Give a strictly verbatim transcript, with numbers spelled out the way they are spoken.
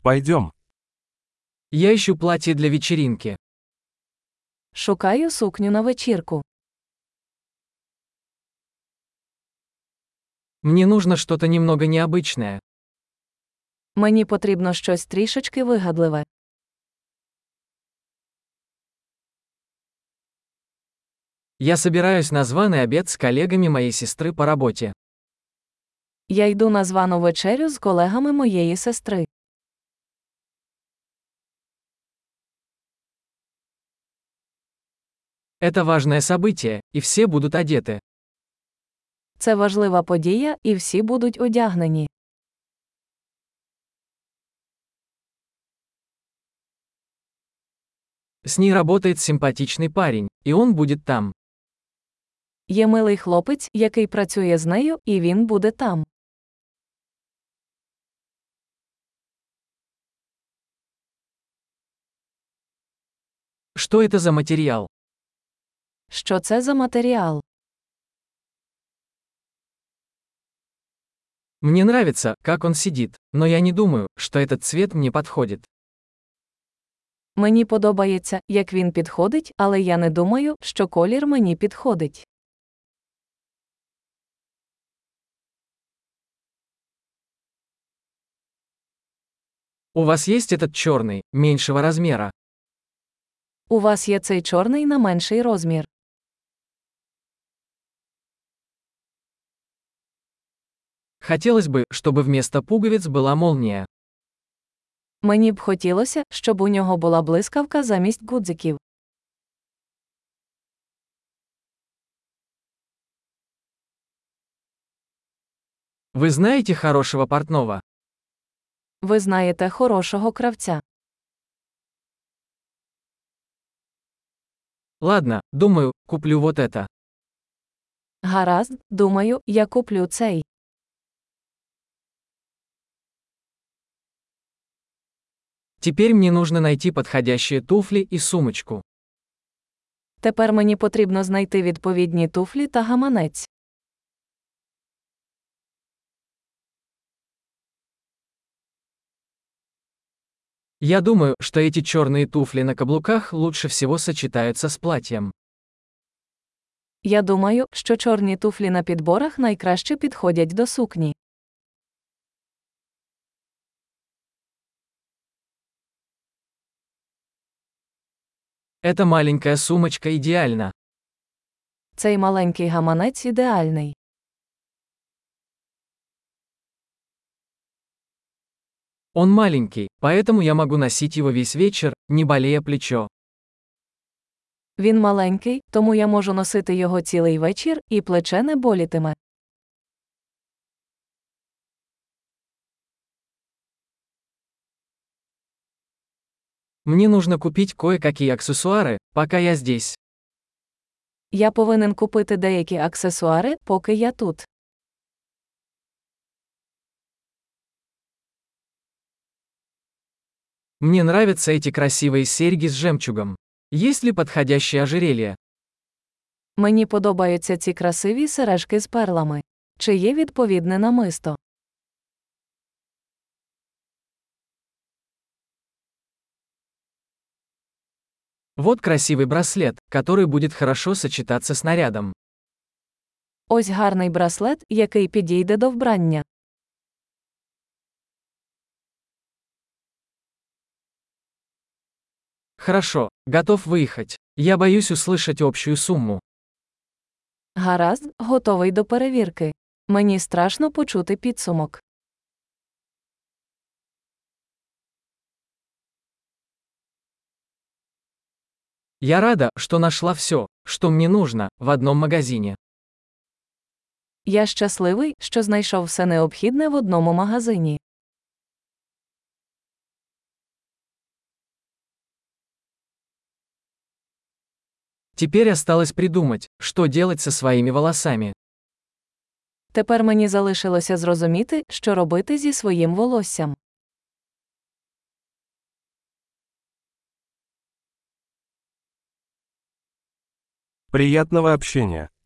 Пойдем. Я ищу платье для вечеринки. Шукаю сукню на вечірку. Мне нужно что-то немного необычное. Мені потрібно щось трішечки вигадливе. Я собираюсь на званый обед с коллегами моей сестры по работе. Я йду на звану вечерю з колегами моєї сестри. Это важное событие, и все будут одеты. Це важлива подія, і всі будуть одягнені. С ней работает симпатичный парень, и он будет там. Є милий хлопець, який працює з нею, і він буде там. Что это за материал? Що це за матеріал? Мне нравится, как он сидит, но я не думаю, что этот цвет мне подходит. Мені подобається, як він підходить, але я не думаю, що колір мені підходить. У вас есть этот черный, меньшего размера? У вас є цей чорний на менший розмір. Хотелось бы, чтобы вместо пуговиц была молния. Мені б хотілося, щоб у нього була блискавка замість гудзиків. Вы знаете хорошего портного? Ви знаєте хорошого кравця. Ладно, думаю, куплю вот это. Гаразд, думаю, я куплю цей. Теперь мне нужно найти подходящие туфли и сумочку. Тепер мені потрібно знайти відповідні туфлі та гаманець. Я думаю, что эти черные туфли на каблуках лучше всего сочетаются с платьем. Я думаю, що чорні туфлі на підборах найкраще підходять до сукні. Эта маленькая сумочка идеальна. Цей маленький гаманець ідеальний. Он маленький, поэтому я могу носить его весь вечер, не болея плечо. Він маленький, тому я можу носити його цілий вечір, і плече не болітиме. Мне нужно купить кое-какие аксессуары, пока я здесь. Я повинен купити деякі аксесуари, поки я тут. Мне нравятся эти красивые серьги с жемчугом. Есть ли подходящее ожерелье? Мені подобаються ці красиві сережки з перлами. Чи є відповідне намисто? Вот красивый браслет, который будет хорошо сочетаться с нарядом. Ось гарний браслет, який підійде до вбрання. Хорошо, готов выехать. Я боюсь услышать общую сумму. Гаразд, готовий до перевірки. Мені страшно почути підсумок. Я рада, что нашла все, что мне нужно, в одном магазине. Я щасливий, що знайшов все необхідне в одному магазині. Теперь осталось придумать, что делать со своими волосами. Тепер мені залишилося зрозуміти, що робити зі своїм волоссям. Приятного общения.